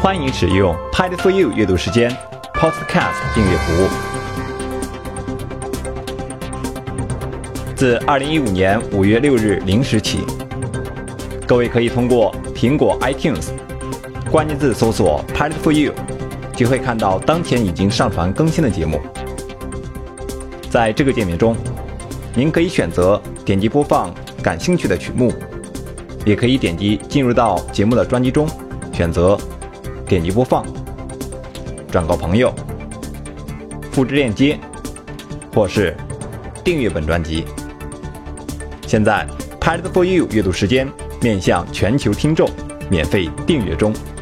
欢迎使用 Pad for You 阅读时间 Podcast 订阅服务。自2015年5月6日0时起，各位可以通过苹果 iTunes 关键字搜索 Pad for You， 就会看到当前已经上传更新的节目。在这个界面中，您可以选择点击播放感兴趣的曲目，也可以点击进入到节目的专辑中，选择点击播放、转告朋友、复制链接，或是订阅本专辑。现在 Pad for You 阅读时间面向全球听众免费订阅中。